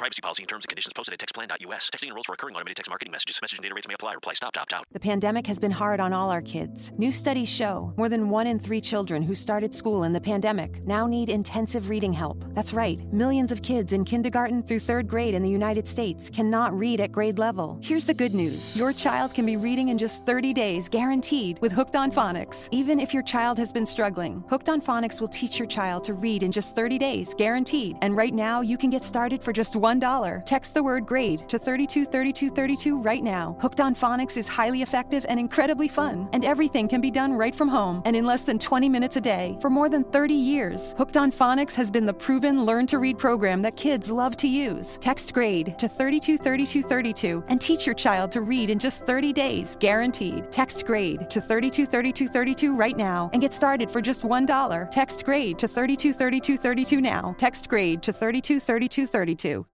privacy policy and terms and conditions posted at textplan.us. Texting enrolls for recurring automated text marketing messages. Message and data rates may apply. Reply stop to opt out. The pandemic has been hard on all our kids. New studies show more than 1 in 3 children who started school in the pandemic now need intensive reading help. That's right. Millions of kids in kindergarten through 3rd grade in the United States cannot read at grade level. Here's the good news. Your child can be reading in just 30 days, guaranteed, with Hooked on Phonics. Even if your child has been struggling, Hooked on Phonics will teach your child to read in just 30 days, guaranteed. And right now, you can get started for just $1. Text the word GRADE to 323232 right now. Hooked on Phonics is highly effective and incredibly fun. And everything can be done right from home and in less than 20 minutes a day. For more than 30 years, Hooked on Phonics has been the proven learn-to-read program that kids love to use. Text GRADE to 323232 and teach your child to read in just 30 days, guaranteed. Text GRADE to 323232 right now and get started for just $1. Text GRADE to 323232 now. Text GRADE to 323232.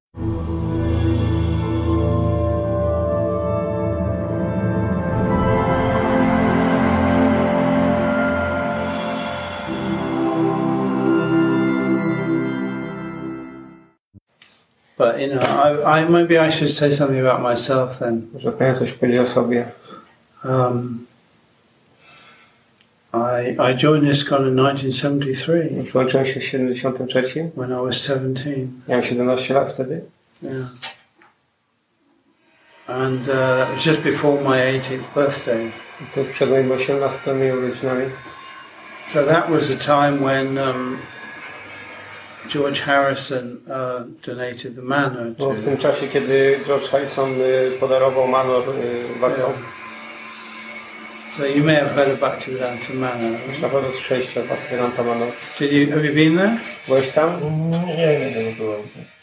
But I maybe I should say something about myself then. Może powinien coś powiedzieć o sobie. I joined ISKCON in 1973. Przyłączyłem się w 73. When I was 17. Miałem 17 lat wtedy. Yeah. And it was just before my 18th birthday. I to przed moimi 18 urodzinami. So that was a time when George Harrison donated the manor to... W tym czasie, kiedy George Harrison podarował manor Bhaktom. So you may have heard of Bhaktivedanta Manor. Na pewno słyszeliście o Bhaktivedanta Manor. Have you been there? Byłeś tam? Nie byłem.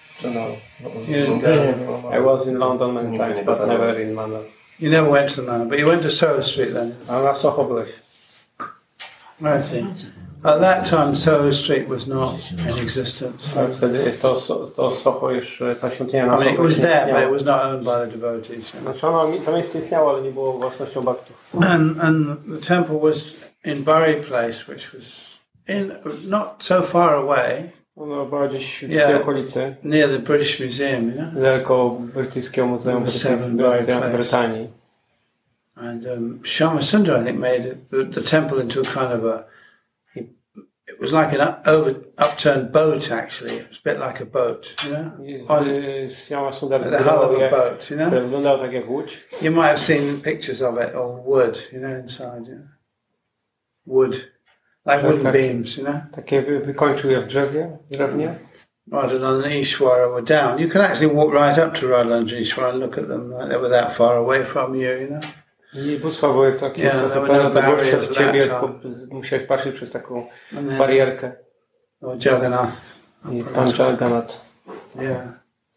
I was in London many times, but never in Manor. You never went to the manor, but you went to Soho Street then? A na Soho byłeś. I see. At that time, Soho Street was not in existence. Wtedy to Soho jeszcze, ta świątynia na I mean, Soho it was there, but it was not owned by the devotees. Znaczy to miejsce istniało, ale nie było własnością Bhaktów. And the temple was in Bury Place, which was not so far away. Ono było gdzieś w tej okolicy. Near the British Museum, you know? Niedaleko Brytyjskiego Muzeum Brytanii. And Shyama Sundar, I think, made the temple into a kind of it was like an upturned boat, actually. It was a bit like a boat, you know? Shyama Sundar the hull of a boat, you know? Wyglądał tak jak łódź. You might have seen pictures of it, all wood, you know, inside, you know? Wood. Like wooden beams, you know? Takie wykończył je w drewnie. Radha and Ishwara were down. You can actually walk right up to Radha and Ishwara and look at them. Like they were that far away from you, you know? I bóstwa były takie, there were no barriers przed ciebie, musiałeś patrzeć przez taką barierkę. Jagannath. I Pan Jagannath. Yeah.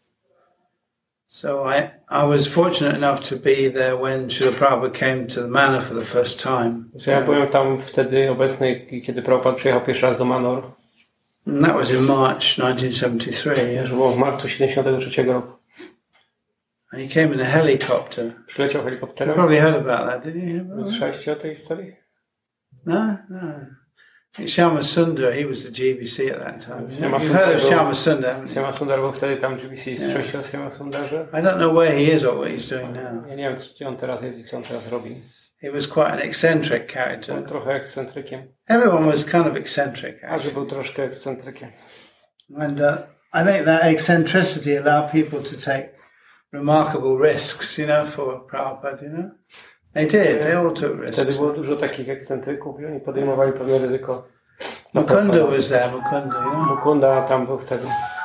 So I was fortunate enough to be there when Srila Prabhupada came to the manor for the first time. Ja byłem tam wtedy obecny, kiedy Prabhupada przyjechał pierwszy raz do Manor. And that was in March 1973. To było w marcu 73 roku. And he came in a helicopter. Przyleciał helikopterem. You probably heard about that, did you? Słyszeliście o tej historii? No. Shyama Sundar, he was the GBC at that time. You heard of Shyama Sundar? Shyama Sundar był wtedy tam GBC. Słyszeliście o Shyama Sundarze? I don't know where he is or what he's doing now. Ja nie wiem, gdzie on teraz jest i co on teraz robi. He was quite an eccentric character. Był trochę ekscentrykiem. Everyone was kind of eccentric, actually. A że był troszkę ekscentrykiem. And I think that eccentricity allowed people to take remarkable risks, you know, for Prabhupada, you know. They did. They all took risks. Wtedy było dużo takich ekscentryków i oni podejmowali pewne ryzyko. Mukunda was there, Mukunda, you know. Mukunda tam był wtedy.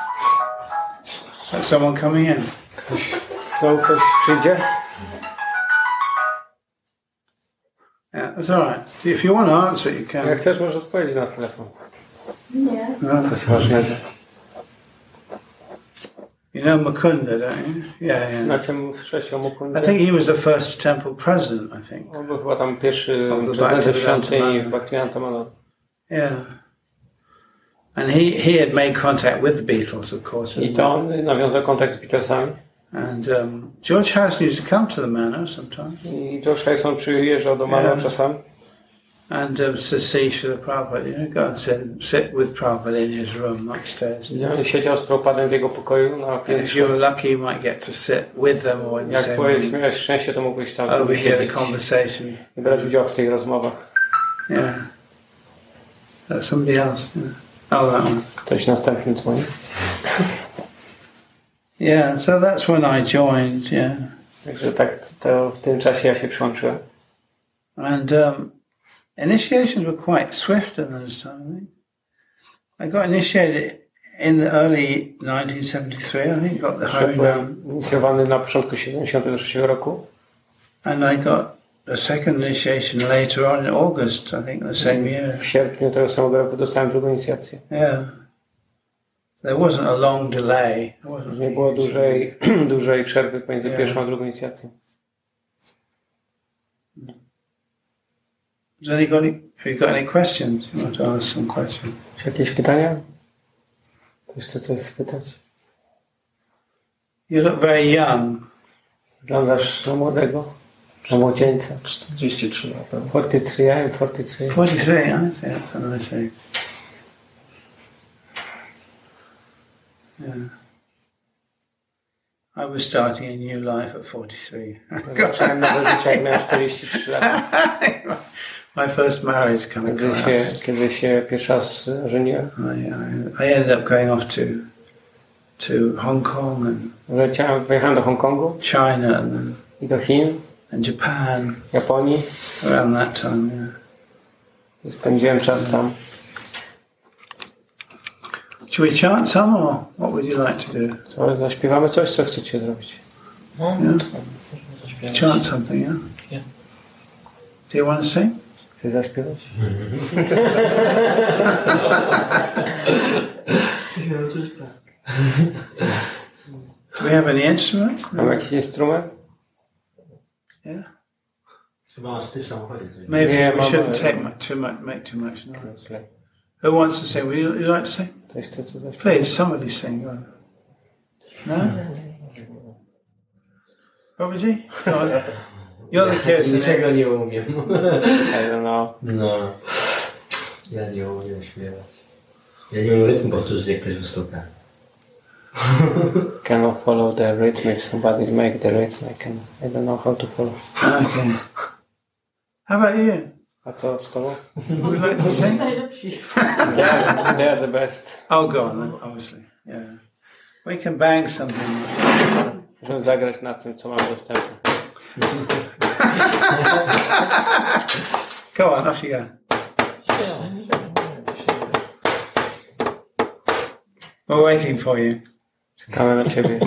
Someone coming in. Ktoś przyjdzie? Yeah, that's all right. If you want to answer, you can. Jak chcesz, możesz odpowiedzieć na telefon. Nie. No. Coś ważnego. You know Mukunda, don't you? Yeah. Na czym słyszałeś o Mukundzie? I think he was the first temple president, I think. On był chyba tam pierwszy prezydent świątyni w Bhaktivedanta Manor. Yeah. And he had made contact with the Beatles, of course. I to on nawiązał kontakt z Beatlesami. And George Harrison used to come to the manor sometimes. I George Harrison przyjeżdżał do Manor czasami. And to see Srila Prabhupada, go and sit with Prabhupada in his room upstairs. Ja siedział z Prabhupadem w jego pokoju na And if piętrze. you were lucky, you might get to sit with them or in the Jak same room, miałeś szczęście, to mógłbyś tam overhear the siedzieć conversation. i brać udział w tych rozmowach. Yeah. That's somebody else. Yeah. Oh, that one. Ktoś następny dzwoni. Yeah, so that's when I joined, yeah. Także tak, to w tym czasie ja się przyłączyłem. And initiations were quite swift in those times, I think. I got initiated in the early 1973, I think, got the Harinam. Byłem inicjowany na początku 73 roku. And I got the second initiation later on in August, I think, the same year. W sierpniu tego samego roku dostałem drugą inicjację. Yeah. There wasn't a long delay. Nie było dużej przerwy pomiędzy pierwszą a drugą inicjacją. Have you got any questions? You want to ask some questions? Czy jakieś pytania? Ktoś chce coś spytać? You look very young. Wyglądasz na młodego? Na młodzieńca? 43 lata. 43, I'm 43. 43, I see, that's a nice age. Yeah. I was starting a new life at 43. Zacząłem nowe życie, jak miałem 43 lata. My first marriage kind of collapsed. Kiedy się pierwszy raz żeniłem. I ended up going off to Hong Kong and Pojechałem do Hongkongu China and i do Chin, Japan Japonii. around that time, yeah. Spędziłem czas tam. Should we chant some, or what would you like to do? Co, zaśpiewamy coś, co chcecie zrobić? Chant something, yeah? Yeah. Do you want to sing? Chcesz zaśpiewać? Do we have any instruments? Mam jakiś instrument? Yeah. Chyba masz ty w samochodzie. Maybe Yeah, we shouldn't Mama. make too much noise. Who wants to sing? Would you like to sing? Ktoś chce coś zaśpiewać? Please, somebody sing. Go on. No? Babaji? Go on. You're the kirtan. Niczego nie umiem. I don't know. No. Ja nie umiem śpiewać. Ja nie umiem rytmu powtórzyć, jak ktoś wystuka. Cannot follow the rhythm. If somebody make the rhythm, I don't know how to follow. Okay. How about you? A co z tobą? Would you like to sing? They are the best. Oh, go on then, obviously. Yeah. We can bang something. Możemy zagrać na tym, co mam dostępne. Go on, off you go. We're waiting for you. Czekamy na ciebie.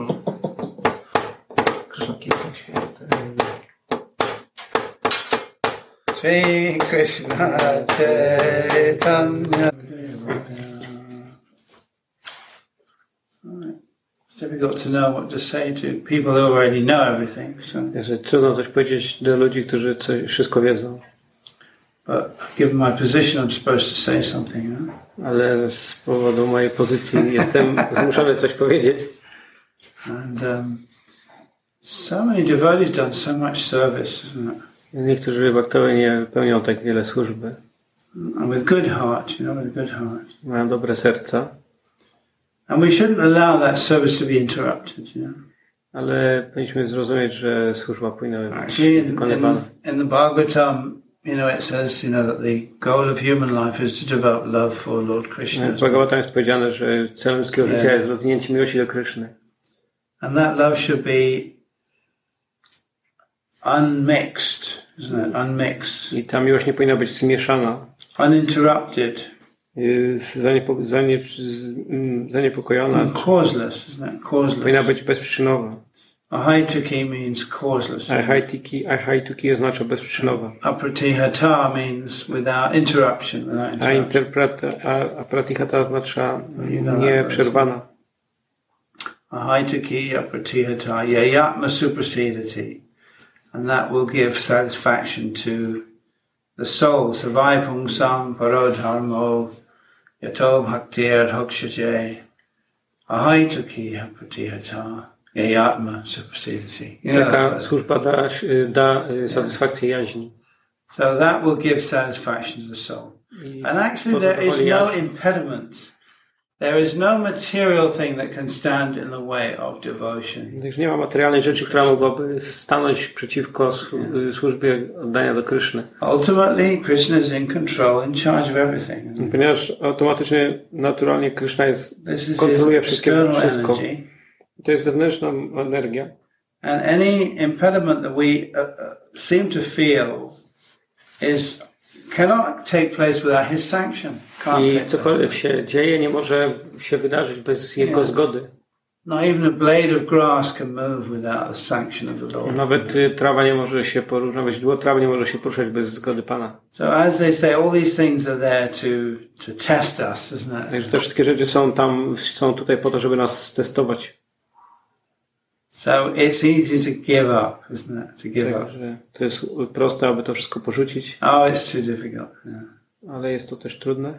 Shri Krishna Chaitanya. It's difficult to know what to say to people who already know everything. So, Że trudno coś powiedzieć do ludzi, którzy wszystko wiedzą. but given my position, I'm supposed to say something. You know? Ale z powodu mojej pozycji jestem zmuszony coś powiedzieć. And so many devotees done so much service, isn't it? Niektórzy baktowie nie pełnią tak wiele służby. And with good heart, you know, with good heart. Mają dobre serca. And we shouldn't allow that service to be interrupted, you know. Ale powinniśmy zrozumieć, że służba powinna być Actually, wykonywana. in the Bhagavatam, you know, it says, you know, that the goal of human life is to develop love for Lord Krishna. W Bhagavatam jest powiedziane, że celem ludzkiego życia jest rozwinięcie miłości do Kryszny. And that love should be unmixed, isn't it? Unmixed. I ta miłość nie powinna być zmieszana, Uninterrupted. Zaniepokojona. And causeless, isn't it? Powinna Causeless. być bezprzyczynowa. Ahaituki means causeless. Ahaituki oznacza bezprzyczynowa. Apratihata means without interruption, without interruption. A pratihata oznacza nieprzerwana. Ahaituki apratihata yayatma suprasedati. And that will give satisfaction to the soul. Savai sam parodharmo yato bhaktir hokshaje. Ahaituki apratihata yayatma suprasedati. Taka służba da satysfakcję jaźni. So that will give satisfaction to the soul. And actually there is no impediment. There is no material thing that can stand in the way of devotion. Gdyż nie ma materialnej rzeczy, która mogłaby stanąć przeciwko służbie oddania do Kryszny. Ultimately, Krishna is in control, in charge of everything. Ponieważ automatycznie, naturalnie Kryszna kontroluje wszystko. To jest zewnętrzna energia. And any impediment that we seem to feel cannot take place without his sanction. I cokolwiek się dzieje, nie może się wydarzyć bez jego zgody. Not even a blade of grass can move without the sanction of the Lord. Nawet trawa nie może się poruszać, nawet źdźbło trawy nie może się poruszać bez zgody Pana. So as they say, all these things are there to test us, isn't it? Także te wszystkie rzeczy są tutaj po to, żeby nas testować. So it's easy to give up, isn't it? To give up. To jest proste, aby to wszystko porzucić. Oh, it's too difficult. Yeah. Ale jest to też trudne.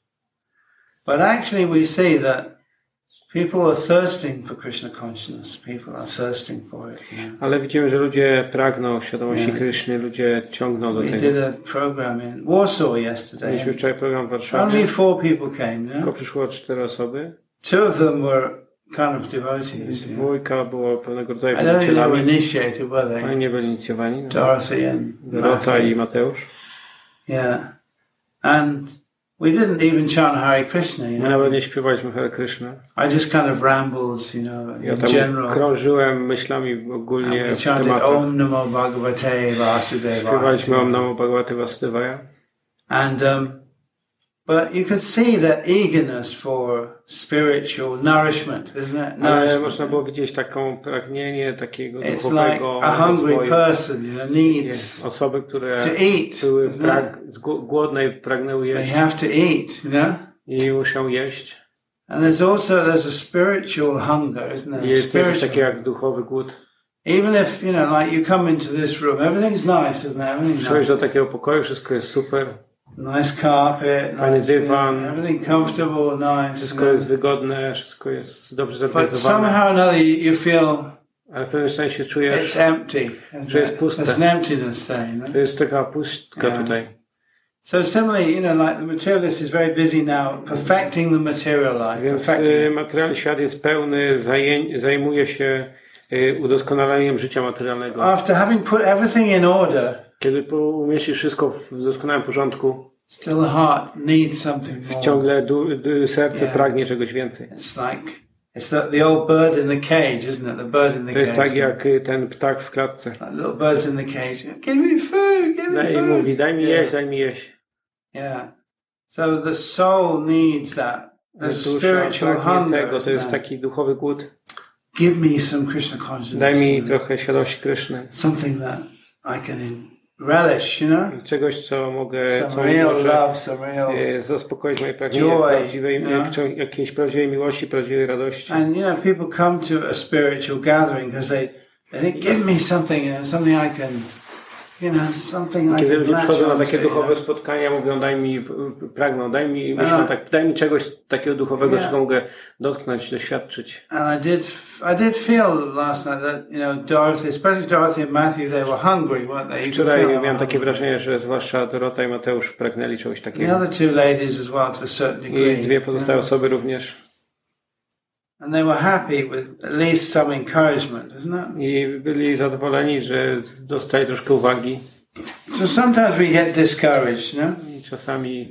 But actually we see that people are thirsting for Krishna consciousness. People are thirsting for it. Yeah. Ale widzimy, że ludzie pragną świadomości Kryszny, ludzie ciągną do tego. We did a program in Warsaw yesterday. Mieliśmy wczoraj program w Warszawie. Only 4 people came, Tylko przyszło 4 osoby. 2 of them were kind of devotees. Dwójka było pewnego rodzaju I don't think they were initiated, were they? Oni nie byli inicjowani. Dorothy and Dorota i Mateusz. Yeah. And we didn't even chant Hare Krishna, you My know. nawet nie śpiewaliśmy Hare Krishna. I just kind of rambled, you know, Ja in tam general. krążyłem myślami ogólnie And we w chanted tematach. Om Namo Bhagavate Vasudevaya. Śpiewaliśmy Om Namo Bhagavate Vasudevaya. And but you could see that eagerness for spiritual nourishment, isn't it? Ale można było widzieć taką pragnienie takiego It's like duchowego a hungry rozwoju. person, you know, needs Osoby, które to eat, były isn't głodne i pragnęły they jeść have to eat, you know. i muszą jeść. And there's a spiritual hunger, isn't there? I jest coś Spiritual. takiego jak duchowy głód. Even if, you know, like you come into this room, everything's nice, isn't it? Everything's Przychodzisz do nice. takiego pokoju, wszystko jest super. Nice carpet, Fajny nice, dywan. everything comfortable, nice. Wszystko jest wygodne, wszystko jest dobrze But zorganizowane. somehow or another you feel Ale w pewnym sensie it's czujesz, empty. że jest puste. There's an emptiness there, you know? to jest taka pustka tutaj. So similarly, you know, like the materialist is very busy now perfecting the material life. Więc Perfecting. materialny świat jest pełny, zajmuje się udoskonaleniem życia materialnego. After having put everything in order, Kiedy umieścisz wszystko w doskonałym porządku, still the heart needs something more. ciągle serce pragnie czegoś więcej. It's like it's the old bird in the cage, isn't it? The bird in the To jest cage. tak jak ten ptak w klatce. Like little birds in the cage. Give me food, give me I food. mówi, daj mi jeść, daj mi jeść. Yeah. So the soul needs that. There's a Dusza spiritual pragnie hunger. tego, to jest taki duchowy głód. Give me some Krishna consciousness. Daj mi trochę świadomości Kryszny. Something that I can relish, you know? Czegoś, co mogę, co Some real może love, some real... zaspokoić moje pragnienie joy, prawdziwej, jakiejś prawdziwej miłości, prawdziwej radości. And, you know, people come to a spiritual gathering because they think, give me something, something I can, you know, something I Kiedy can ludzie latch przychodzą na onto, takie you know? duchowe spotkania, mówią, pragną, myślą tak, daj mi czegoś takiego duchowego, czego mogę dotknąć, doświadczyć. And I did feel last night that, you know, Dorothy, especially Dorothy and Matthew, they were hungry, weren't they? You could Wczoraj feel miałem takie them. wrażenie, że zwłaszcza Dorota i Mateusz pragnęli czegoś The takiego. other 2 ladies as well, to a certain degree. I dwie pozostałe osoby również. And they were happy with at least some encouragement, isn't it? I byli zadowoleni, że dostali troszkę uwagi. So sometimes we get discouraged, you know? I czasami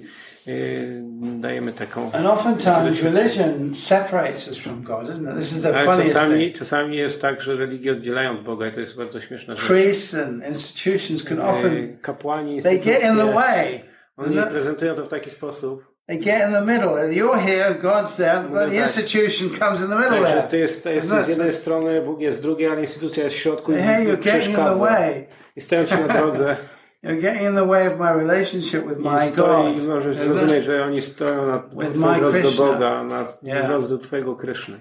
dajemy taką... And oftentimes religion separates us from God, isn't it? This is the Ale funniest thing. czasami jest tak, że religie oddzielają od Boga i to jest bardzo śmieszne rzecz. Priests and institutions can often, Kapłani, they get in the way. oni Isn't it? prezentują to w taki sposób. They get in the middle, and you're here, God's there, but the institution comes in the middle Także there. to jest z jednej strony, Bóg jest z drugiej, ale instytucja jest w środku i Hey, you're getting in the przeszkadza. way. I stoją ci na drodze. You're getting in the way of my relationship with I my God. możesz Isn't it? zrozumieć, że oni stoją na With twojej my drodze do Krishna. Boga, na Yeah. drodze do twojego Kryszny.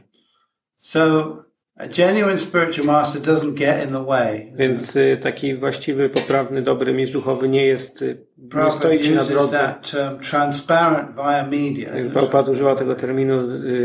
So a genuine spiritual master doesn't get in the way. Więc taki właściwy, poprawny, dobry mistrz duchowy nie stoi Prabhupada ci na uses drodze. that term transparent via media. Prabhupada używa tego terminu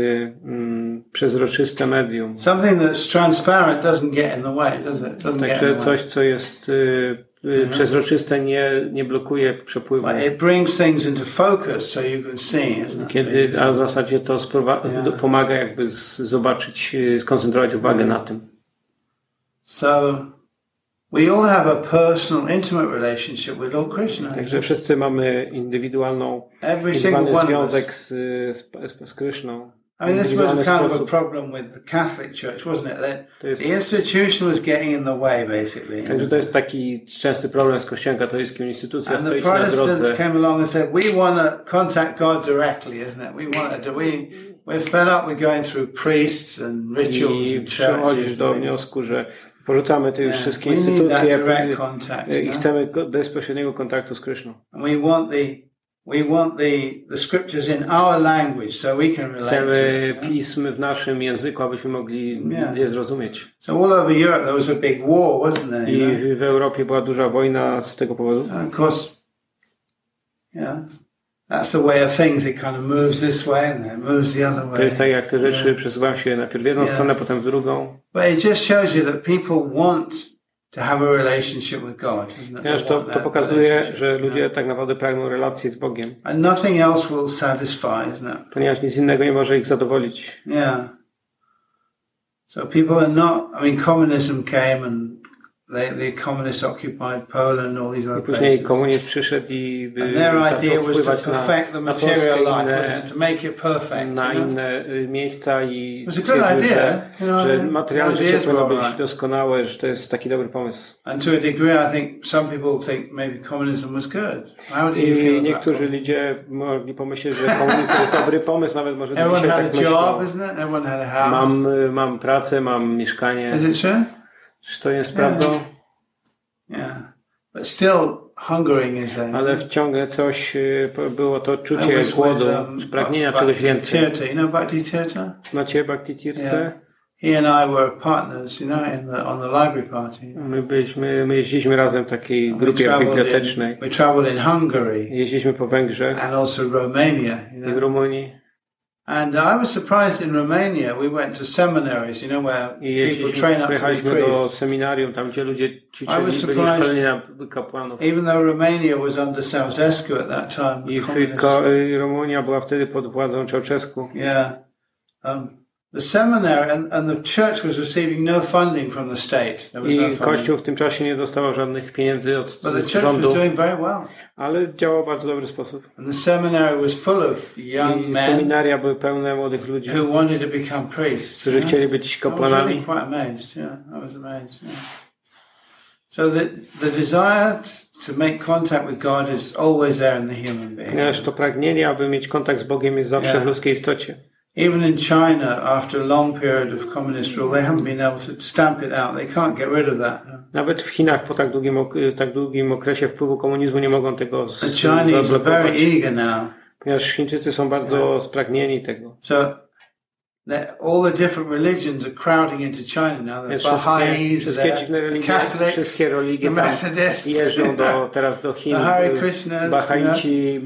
przezroczyste medium. Something that's transparent doesn't get in the way, does it? Doesn't get in Także the way. coś, co jest przezroczyste nie blokuje przepływu. But it brings things into focus so you can see, isn't it? A w zasadzie to pomaga jakby zobaczyć, skoncentrować uwagę na tym. So we all have a personal, intimate relationship with Lord Krishna. Także wszyscy mamy indywidualny związek z Kryszną. I mean, this was kind of a problem with the Catholic Church, wasn't it? The institution was getting in the way, basically. Także to jest taki częsty problem z Kościołem katolickim. Instytucja and stoi the na drodze. Protestants came along and said, we want to contact God directly, isn't it? We're fed up with going through priests and rituals I and przychodzisz do wniosku, że porzucamy te już wszystkie instytucje i chcemy bezpośredniego kontaktu z Kryszną. And we want the scriptures in our language so we can relate Chcemy pism w naszym języku, abyśmy mogli je zrozumieć. So all over Europe there was a big war, wasn't there? I w Europie była duża wojna z tego powodu. And of course, that's the way of things. It kind of moves this way and then it moves the other way. To jest tak, jak te rzeczy przesuwają się najpierw w jedną stronę, potem w drugą. But it just shows you that people want to have a relationship with God, isn't it? To pokazuje, że ludzie tak naprawdę pragną relacji z Bogiem. And nothing else will satisfy, isn't it? Ponieważ nic innego nie może ich zadowolić. Yeah. So people are not, I mean, communism came and the communists occupied Poland, all these other places. Później komunizm przyszedł i zaczął wpływać na Polskę to make it perfect, na inne miejsca i że materialne życie powinno być doskonałe, że to jest taki dobry pomysł. And to a degree I think some people think maybe communism was good. How do you feel? I niektórzy ludzie mogli pomyśleć, że komunizm to jest dobry pomysł, nawet może everyone dzisiaj had tak a job, myślą. Isn't it? Everyone had a house. Mam pracę, mam mieszkanie. Is it true? Czy to jest prawdą? Yeah. But still hungering is there. Ale ciągle coś było to czucie głodu, pragnienia czegoś więcej. You know Bhakti Tirtha? Znacie Bhakti Tirtha? He and I were partners, on the library party. My jeździliśmy razem w takiej grupie bibliotecznej. We traveled in Hungary. Jeździliśmy po Węgrzech. And also Romania, I w Rumunii. And I was surprised in Romania. We went to seminaries, where people train up to be pojechaliśmy priests. do seminarium, tam gdzie ludzie ćwiczyli, byli szkoleni na kapłanów. Even though Romania was under Ceausescu at that time. I Rumunia była wtedy pod władzą Ceausescu. Yeah. The seminary and the church was receiving no funding from the state. There was no funding. Kościół w tym czasie nie dostawał żadnych pieniędzy od rządu. But the church was doing very well. Ale działał w bardzo dobry sposób. And the seminary was full of young men. Seminaria były pełne młodych ludzi, who wanted to become priests. Którzy chcieli być kapłanami. I was really quite amazed. I was amazed. So the desire to make contact with God is always there in the human being. Ponieważ to pragnienie, aby mieć kontakt z Bogiem, jest zawsze w ludzkiej istocie. Even in China, after a long period of communist rule, they haven't been able to stamp it out. They can't get rid of that. Nawet w Chinach po tak długim okresie wpływu komunizmu nie mogą tego zablokować. Very eager now. Ponieważ Chińczycy są bardzo spragnieni tego. So all the different religions are crowding into China now. The Baha'is, the Catholics, the Methodists, jeżdżą teraz do Chin. The Hare Krishnas, Bahaici,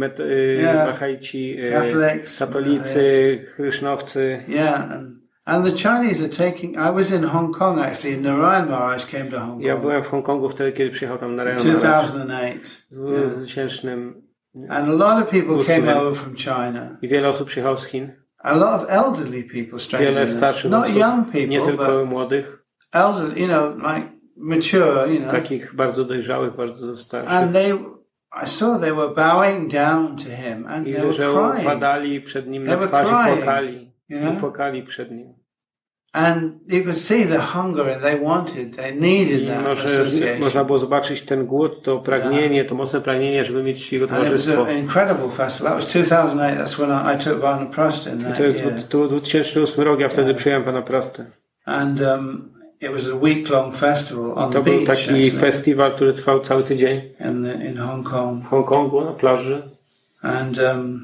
katolicy, chrysznowcy. Yeah, and the Chinese are taking. I was in Hong Kong actually. Narayan Maharaj came to Hong Kong. Ja byłem w Hongkongu wtedy, kiedy przyjechał tam Narayan Maharaj. 2008. W 2000. And a lot of people came over from China. I wiele osób przyjechało z Chin. A lot of elderly people, strangely wiele starszych not osób, young people, nie tylko młodych. Elderly, like mature, Takich bardzo dojrzałych, bardzo starszych. And I saw they were bowing down to him and they were crying. Padali przed nim na twarz i płakali przed nim. And you could see the hunger and they needed that association. Można było zobaczyć ten głód, to pragnienie, to mocne pragnienie, żeby mieć jego towarzystwo. And it was an incredible festival. That was 2008. That's when I took Vanaprastha in that year. To 2008 rok, ja wtedy przyjąłem Vanaprastę. And it was a week-long festival on the beach. To był taki festiwal, który trwał cały tydzień. In Hong Kong. W Hongkongu, na plaży. And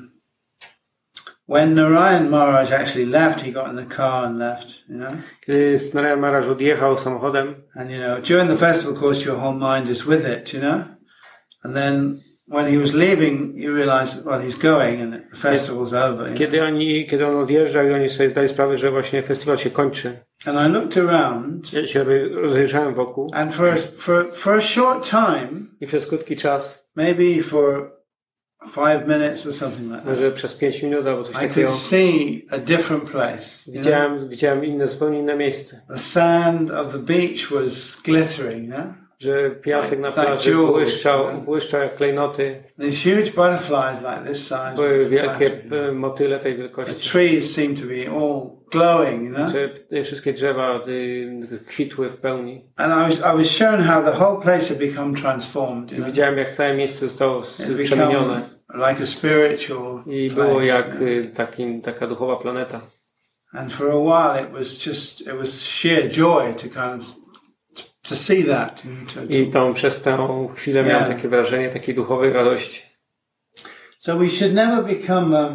when Narayan Maharaj actually left, he got in the car and left, Kiedy Narayan Maharaj odjechał samochodem. And during the festival, of course, your whole mind is with it, And then when he was leaving, you realize, well, he's going and the festival's over. Kiedy on odjeżdżał i oni sobie zdali sprawę, że właśnie festiwal się kończy. And I looked around. Ja się rozejrzałem wokół. And for a short time. I przez krótki czas. Maybe for 5 minutes or something like that. Może przez 5 minut albo coś takiego. I could see a different place. Widziałem zupełnie inne miejsce. The sand of the beach was glittering, że piasek na plaży błyszczał jak klejnoty. These huge butterflies like this size. Były wielkie motyle tej wielkości. The trees seemed to be all glowing, Że te wszystkie drzewa kwitły w pełni. And I was shown how the whole place had become transformed. Widziałem, jak całe miejsce zostało przemienione. Like a spiritual I było jak taka duchowa planeta. And for a while it was sheer joy to kind of to see that. I przez tę chwilę miałem takie wrażenie takiej duchowej radości. So we should never become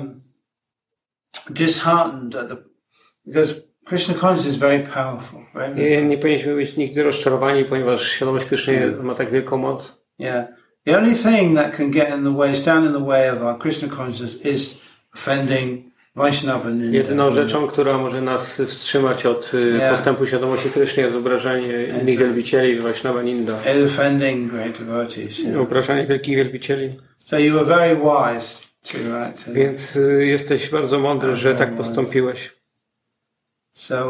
disheartened because Krishna consciousness is very powerful. Right? Nie powinniśmy być nigdy rozczarowani, ponieważ świadomość Kryszny ma tak wielką moc. Yeah. The only thing that can get in the way, stand in the way of our Krishna consciousness is offending Vaishnava Ninda. Jedyną rzeczą, która może nas wstrzymać od postępu świadomości Kryszny, jest obrażanie innych wielbicieli, Vaishnava Ninda. Offending great devotees. Obrażanie wielkich wielbicieli. So you were very wise to Więc jesteś bardzo mądry, że tak postąpiłeś. So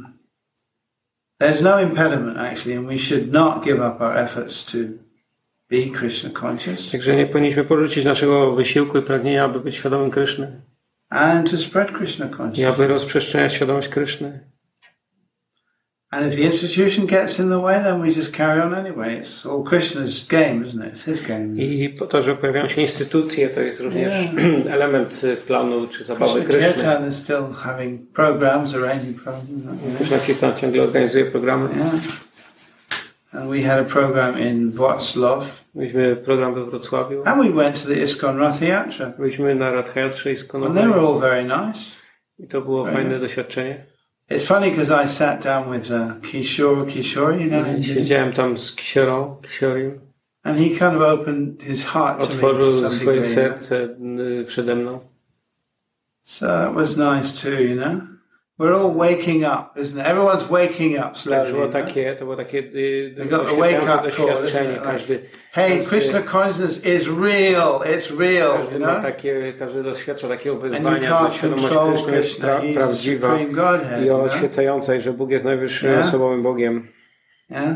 there's no impediment actually, and we should not give up our efforts to be Krishna conscious. Także nie powinniśmy porzucić naszego wysiłku i pragnienia, aby być świadomym Kryszny. And to spread Krishna consciousness. I aby rozprzestrzeniać świadomość Kryszny. And if the institution gets in the way, then we just carry on anyway. It's all Krishna's game, isn't it? It's his game. I po to, że pojawiają się instytucje, to jest również element planu czy zabawy Kryszny. Kirtan is still having programs, arranging programs. Krishna Kirtan ciągle organizuje programy. Yeah. And we had a program in Wrocław. Mieliśmy program we Wrocławiu. And we went to the ISKCON Rath Yatra. Byliśmy na Rath Yatrze ISKCONowej. And they were all very nice. I to było fajne doświadczenie. It's funny because I sat down with Kishore, you know. Siedziałem tam z Kishorim. And he kind of opened his heart to me. Otworzył swoje serce przede mną. So it was nice too, you know. We're all waking up, isn't it? Everyone's waking up slowly. To było takie doświadczenie. Hey, Krishna consciousness is real. It's real. Każdy doświadcza takiego wyzwania, że świadomość Kryszny jest prawdziwa i oświecająca, i że Bóg jest najwyższym osobowym Bogiem. Yeah.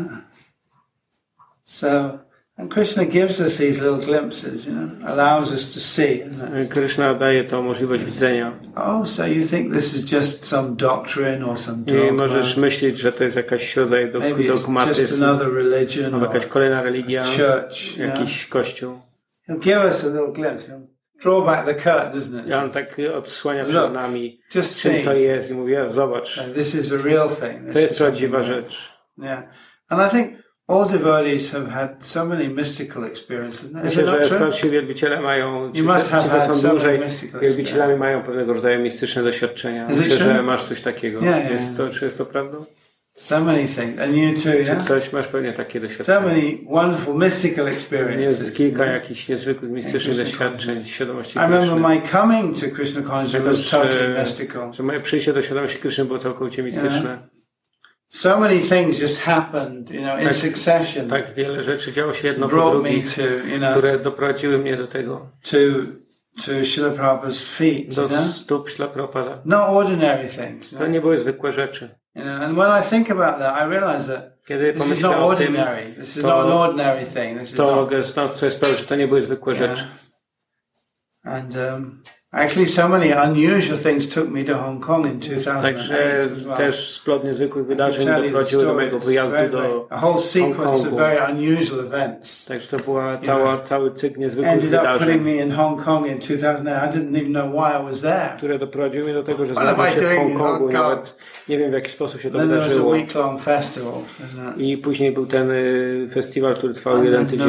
So, and Krishna gives us these little glimpses, you know, allows us to see. Krishna daje tą możliwość widzenia. Oh, so you think this is just some doctrine or some dogma? I możesz myśleć, że to jest jakiś rodzaj dogmatyzmu, albo jakaś kolejna religia, church, jakiś kościół. He'll give us a little glimpse. He'll draw back the curtain, isn't it? On tak odsłania przed nami, just czym to jest, i mówi, zobacz, this is a real thing. To jest prawdziwa rzecz. Yeah. And I think all devotees have had so many mystical experiences. Myślę, że starsi wielbiciele mają, ci, co są dłużej wielbicielami, mają pewnego rodzaju mistyczne doświadczenia. Myślę, że masz coś takiego. Czy jest to prawdą? So many things. And you too, yeah? Ktoś masz pewnie takie doświadczenia. So many wonderful mystical experiences. Jest kilka jakichś niezwykłych mistycznych doświadczeń świadomości Kryszny. I remember my coming to Krishna consciousness was totally mystical. Że moje przyjście do świadomości Kryszny było całkowicie mistyczne. So many things just happened, you know, in succession. Tak wiele rzeczy działo się jedno po drugim, które doprowadziły mnie do tego. To Srila Prabhupada's feet. Do stóp Srila Prabhupada. No ordinary things. To nie były zwykłe rzeczy. And when I think about that, I realize that this is not ordinary. This is not an ordinary thing. To stąd sobie sprawę, że to nie były zwykłe rzeczy. And actually, so many unusual things took me to Hong Kong in 2008. Także też splot niezwykłych wydarzeń doprowadziły do mojego wyjazdu do a whole sequence of very unusual events. Także to była cały cykl niezwykłych ended up wydarzeń. putting me in Hong Kong in 2008. I didn't even know why I was there. Które doprowadziły mnie do tego, że znalazłem się w Hongkongu. Nawet nie wiem, w jaki sposób się to wydarzyło. I później był ten festiwal, który trwał jeden tydzień.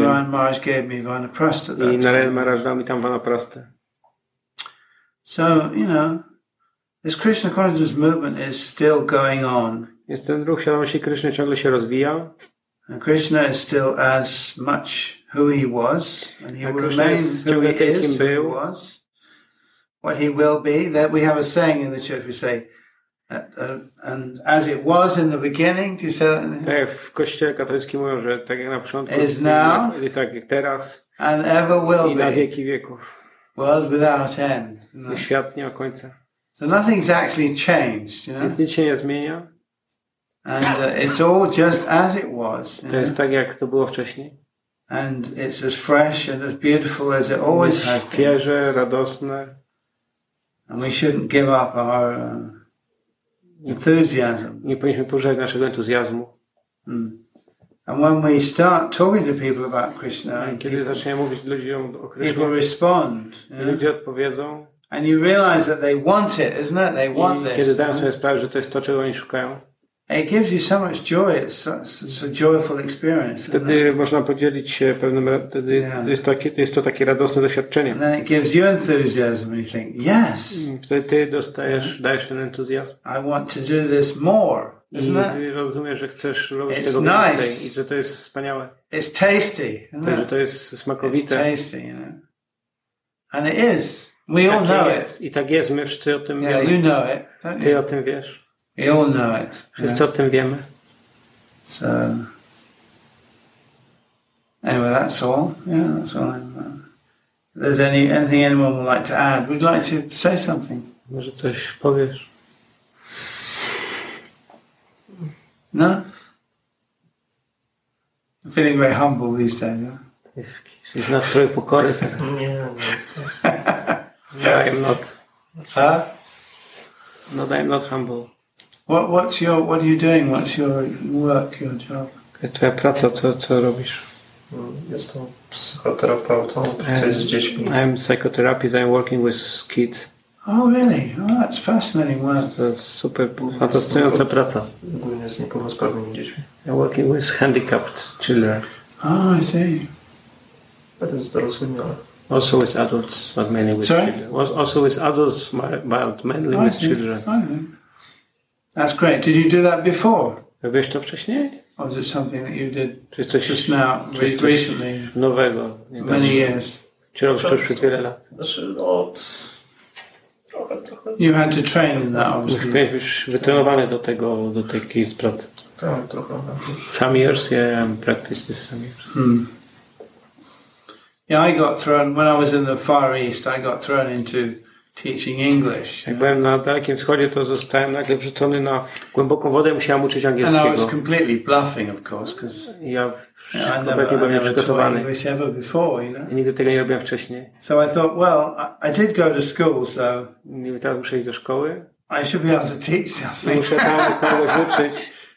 I Narayan Maharaj dał mi tam Vanaprastę. So, you know, this Krishna consciousness movement is still going on. Jest ten ruch świadomości Kryszny ciągle się rozwija. And Krishna is still as much who he was, and he will remain who he is, who he was, what he will be. That we have a saying in the church. We say, And as it was in the beginning, do you say that? Tak, w Kościele katolickim mówią, że tak jak na początku, is now, tak jak teraz, and ever will i na wieki wieków. World without end. No. Świat nie ma końca. So nothing's actually changed, you know? Więc nic się nie zmienia. And it's all just as it was. To jest tak, jak to było wcześniej. And it's as fresh and as beautiful as it always has been. Świeże, radosne. And we shouldn't give up our enthusiasm. Nie powinniśmy pożegnać naszego entuzjazmu. And when we start talking to people about Krishna, kiedy zaczniemy mówić ludziom o Krishnie, people respond. Ludzie odpowiedzą. And you realize that they want it, isn't it? They want this. Kiedy dają sobie sprawę, że to jest to, czego oni szukają. It gives you so much joy. It's a joyful experience. Wtedy można podzielić się pewnym, wtedy jest to takie radosne doświadczenie. And then it gives you enthusiasm and you think, yes. Wtedy ty dajesz ten entuzjazm. I want to do this more, isn't it? I rozumiesz, że chcesz robić tego więcej i że to jest wspaniałe. It's tasty, isn't it? Że to jest smakowite. It's tasty, you know. And it is. We all know it. I tak jest, my wszyscy o tym wiemy. Yeah, you know it, don't you? Ty o tym wiesz. We all know it. Wszyscy o tym wiemy. So, anyway, that's all. Yeah, that's all. If there's anything anyone would like to add, we'd like to say something. Może coś powiesz? No? I'm feeling very humble these days. Jesteś w nastroju pokory teraz. Nie. No, I'm not. Huh? No, I'm not humble. What are you doing? What's your work, your job? Jest twoja praca, co robisz? Jestem psychoterapeutą, pracuję z dziećmi. I'm psychotherapist, I'm working with kids. Oh, really? Oh, that's fascinating work. To jest super fascynująca praca. Głównie z niepełnosprawnymi dziećmi. I'm working with handicapped children. Oh, I see. Potem z dorosłymi, ale... Also with adults, but mainly with children. Also with adults, but mainly with children. I think. That's great. Did you do that before? Robiłeś to wcześniej? Or was it something that you did Czy coś just now, recently? Nowego. Many years. Czy robisz to już przez wiele lat? Znaczy, trochę. You had to train in that, obviously. Musiałeś być wytrenowany do takiej pracy. Tak, trochę. Some years, yeah, I practiced this some years. Yeah, I got thrown, when I was in the Far East, I got thrown into teaching English. Jak byłem na Dalekim Wschodzie, to zostałem nagle wrzucony na głęboką wodę i musiałem uczyć angielskiego. And I was completely bluffing, of course, because ja kompletnie byłem nieprzygotowany. English ever before, you know? I nigdy tego nie robiłem wcześniej. So I thought, well, I did go to school, so I teraz muszę iść do szkoły. I should be able to teach something. Muszę tam kogoś uczyć.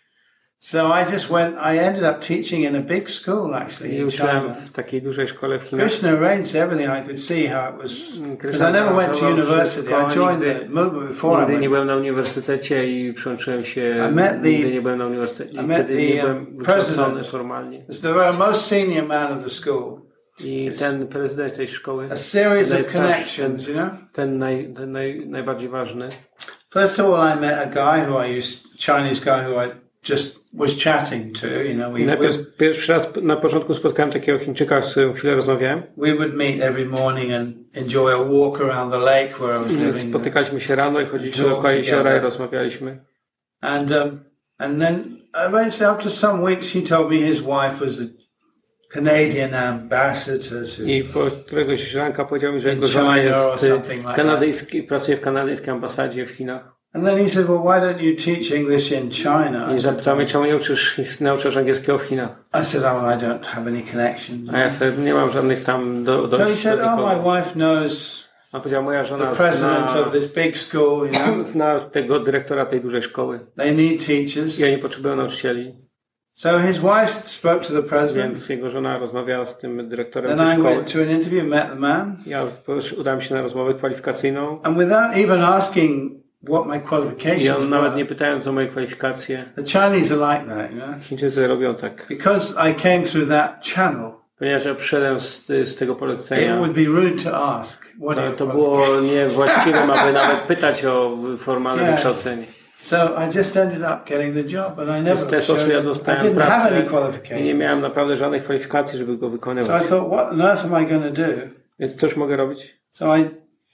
So I just went, I ended up teaching in a big school, actually, in China. W takiej dużej szkole w Chinach. Krishna arranged everything. I could see how it was, because I never went to university. I joined the movement before I Nigdy went. nie byłem na uniwersytecie i przyłączyłem się, nigdy nie byłem na uniwersytecie i wtedy nie byłem wykształcony formalnie. The most senior man of the school. I ten prezydent tej szkoły, a series of connections, you know? Ten najbardziej ważny. First of all, I met a guy Chinese guy who I just was chatting to, you know. Pierwszy raz na początku spotkałem takiego Chińczyka, z którym chwilę rozmawiałem. We would meet every morning and enjoy a walk around the lake where I was living. Spotykaliśmy się rano i chodziliśmy dookoła jeziora i rozmawialiśmy. And then eventually after some weeks he told me his wife was the Canadian ambassador to I po któregoś ranka powiedział mi, że jego żona jest pracuje w kanadyjskiej ambasadzie w Chinach. And then he said, well, why don't you teach English in China? I zapytał mnie, czemu nie nauczysz angielskiego w Chinach? I said, oh, I don't have any connections. A ja sobie nie mam żadnych tam So he said, oh, my wife knows a powiedział, moja żona the president of this big school, you know. Zna tego dyrektora tej dużej szkoły. They need teachers. I oni potrzebują nauczycieli. So his wife spoke to the president. Więc jego żona rozmawiała z tym dyrektorem tej szkoły. Then I went to an interview, met the man. Ja udałem się na rozmowę kwalifikacyjną. And without even asking what my qualifications I on nawet nie pytając o moje kwalifikacje. The Chinese are like that, you know. Chińczycy robią tak. Because I came through that channel. Ponieważ ja przyszedłem z tego polecenia. It would be rude to ask. To było niewłaściwe, aby nawet pytać o formalne wykształcenie. So I just ended up getting the job, and I never I didn't have any qualifications. I nie miałem naprawdę żadnych kwalifikacji, żeby go wykonywać. So I thought, what on earth am I going to do? Więc cóż mogę robić? So I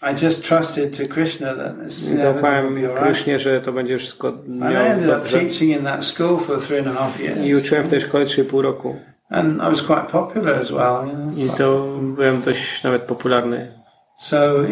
I just trusted to Krishna that zaufałem Krishnie, że to będzie wszystko miało dobrze. I ended up teaching in that school for 3.5 years. I uczyłem w tej szkole 3,5 roku. And I was quite popular as well. I to byłem dość nawet popularny. So,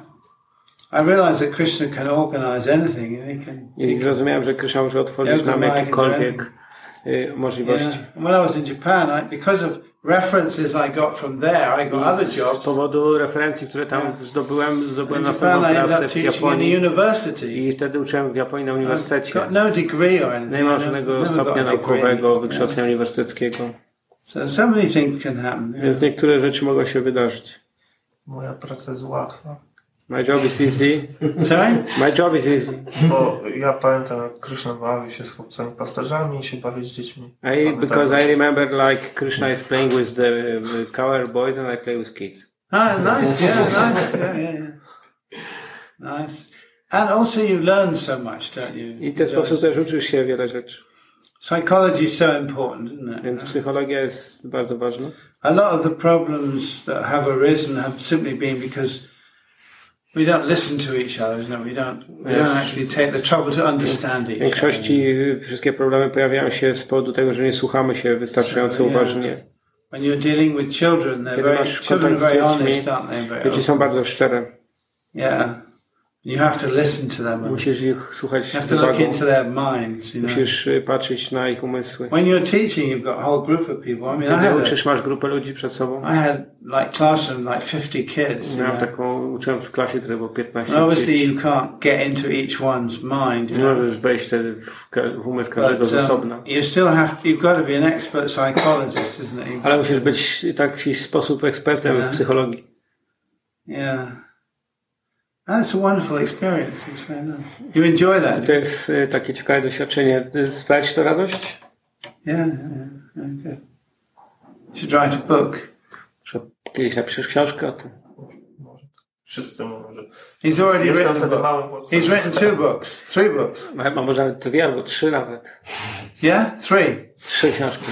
I realized that Krishna can organize anything. I zrozumiałem, że Krishna może otworzyć nam jakiekolwiek możliwości. When I was in Japan, because of references I got from there, I got other jobs. Z powodu referencji, które tam zdobyłem następną pracę w Japonii. I wtedy uczyłem w Japonii na uniwersytecie. No degree or anything. Nie mam żadnego stopnia naukowego, wykształcenia uniwersyteckiego. So many things can happen. Więc niektóre rzeczy mogą się wydarzyć. Moja praca jest łatwa. My job is easy. Sorry? My job is easy. Bo ja pamiętam, jak Krishna bawi się z chłopcami pasterzami i się bawi z dziećmi. Because I remember like Krishna is playing with the cowherd boys and I play with kids. Nice, nice. Yeah. Nice. And also you learn so much, don't you? I w ten sposób też uczysz się wiele rzeczy. Psychology is so important, isn't it? Więc psychologia jest bardzo ważna. A lot of the problems that have arisen have simply been because we don't listen to each other, we don't actually take the trouble to understand each other. W większości wszystkie problemy pojawiają się z powodu tego, że nie słuchamy się wystarczająco uważnie. When you're dealing with children, children are very honest, aren't they? Dzieci są bardzo szczere. Yeah. You have to listen to them. Musisz ich słuchać. You have to look into their minds. Musisz patrzeć na ich umysły. When you're teaching, you've got a whole group of people. Kiedy uczysz, masz grupę ludzi przed sobą. I had classroom 50 kids. Miałem uczyłem w klasie, które było 15 obviously you can't get into each one's mind. Nie możesz wejść wtedy w umysł każdego z osobna. You've got to be an expert psychologist, isn't it? Ale musisz być w taki sposób ekspertem w psychologii. Yeah. And it's a wonderful experience. It's very nice. You enjoy that? To jest takie ciekawe doświadczenie. Sprawia ci to radość? Yeah. Good. You should write a book. Kiedyś napiszesz książkę o tym. Wszyscy może. He's already written a book. He's written 2 books, 3 books. Ma może nawet 2 albo 3 nawet. Yeah? 3? 3 książki.